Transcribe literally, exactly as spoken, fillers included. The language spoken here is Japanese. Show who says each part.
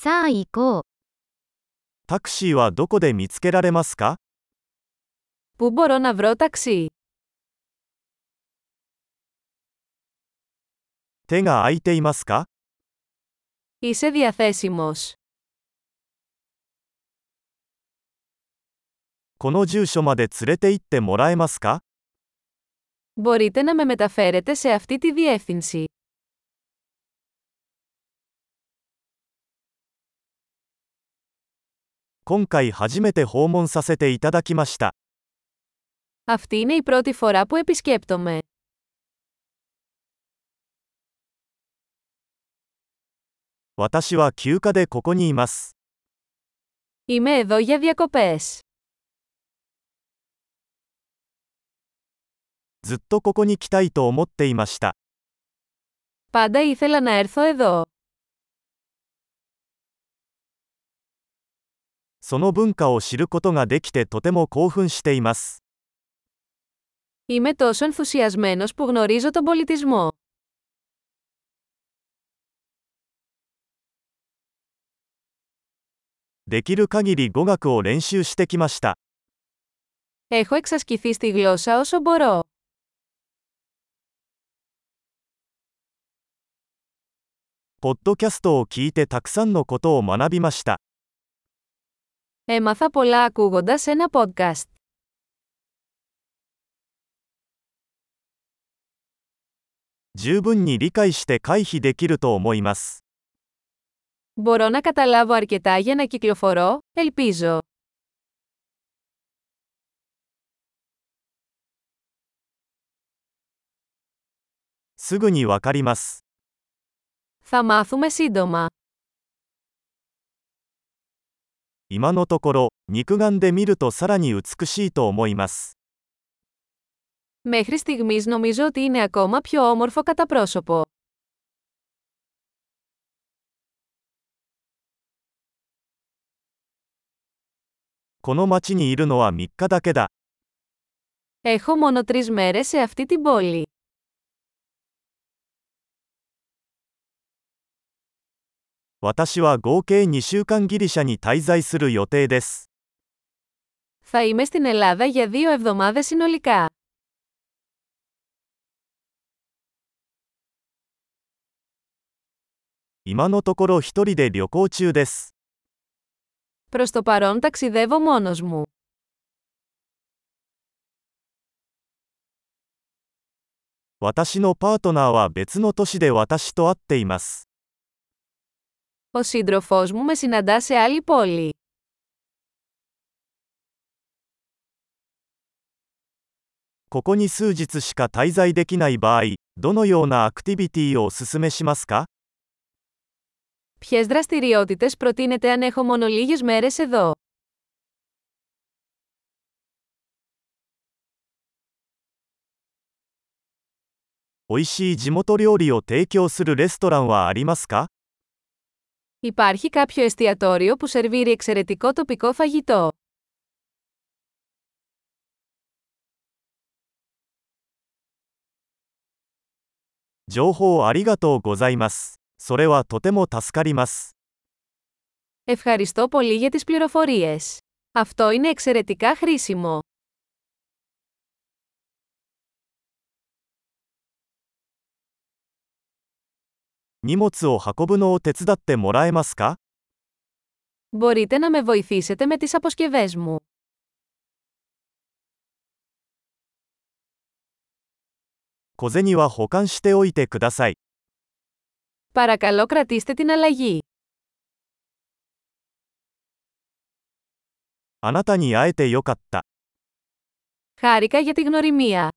Speaker 1: さあ行こう。
Speaker 2: タクシーはどこで見つけられますか？
Speaker 3: Πού μπορώ να βρω ταξί?
Speaker 2: 手が空いていますか？
Speaker 3: Είσαι διαθέσιμος?
Speaker 2: この住所まで連れて行ってもらえますか？
Speaker 3: Μπορείτε να με μεταφέρετε σε αυτή τη διεύθυνση.
Speaker 2: 今回初めて訪問させていただきました。
Speaker 3: Αυτή είναι η πρώτη φορά που επισκέπτομαι.
Speaker 2: 私は休暇でここにいます。
Speaker 3: Είμαι εδώ για διακοπές.
Speaker 2: ずっとここに来たいと思っていました。
Speaker 3: Πάντα ήθελα να έρθω εδώ.
Speaker 2: その文化を知ることができてとても興奮しています。
Speaker 3: Είμαι τόσο ενθουσιασμένος που γνωρίζω τον πολιτισμό.
Speaker 2: できる限り語学を練習してきました。
Speaker 3: Έχω εξασκηθεί στη γλώσσα όσο μπορώ.
Speaker 2: ポッドキャストを聞いてたくさんのことを学びました。
Speaker 3: Έμαθα πολλά ακούγοντας ένα podcast.
Speaker 2: 十分に理解して回避できると思います。
Speaker 3: Μπορώ να καταλάβω αρκετά για να κυκλοφορώ, ελπίζω.
Speaker 2: すぐにわかります。
Speaker 3: Θα μάθουμε σύντομα.
Speaker 2: 今のところ、肉眼で見るとさらに美しいと思います。
Speaker 3: Μέχρι στιγμής νομίζω ότι είναι ακόμα πιο όμορφο κατά πρόσωπο.
Speaker 2: この町にいるのはみっかだけだ。
Speaker 3: Έχω μόνο τρεις μέρες σε αυτή την πόλη.
Speaker 2: 私は合計にしゅうかんギリシャに滞在する予定です。
Speaker 3: Θα είμαι στην Ελλάδα για δύο εβδομάδες συνολικά.
Speaker 2: 今のところ一人で旅行中です。
Speaker 3: Προς το παρόν ταξιδεύω μόνος μου.
Speaker 2: 私のパートナーは別の都市で私と会っています。
Speaker 3: Ο σύντροφός μου με συναντά σε άλλη πόλη.
Speaker 2: ここに数日しか滞在できない場合、どのようなアクティビティをお勧めしますか？
Speaker 3: Ποιες δραστηριότητες προτείνετε αν έχω μόνο λίγες μέρες εδώ?
Speaker 2: 美味しい地元料理を提供するレストランはありますか？
Speaker 3: Υπάρχει κάποιο εστιατόριο που σερβίρει εξαιρετικό τοπικό φαγητό.
Speaker 2: 情報ありがとうございます。それはとても助かります。
Speaker 3: Ευχαριστώ πολύ για τις πληροφορίες. Αυτό είναι εξαιρετικά χρήσιμο.
Speaker 2: 荷物を運ぶのを手伝ってもらえますか？
Speaker 3: Μπορείτε να με βοηθήσετε με τις αποσκευές μου.
Speaker 2: 小銭は保管しておいてください。
Speaker 3: Παρακαλώ κρατήστε την αλλαγή.
Speaker 2: あなたに会えてよかった。
Speaker 3: Χάρηκα για τη γνωριμία.